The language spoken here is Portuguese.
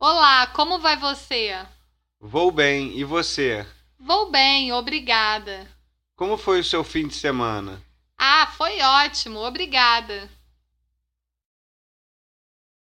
Olá, como vai você? Vou bem, e você? Vou bem, obrigada. Como foi o seu fim de semana? Ah, foi ótimo, obrigada.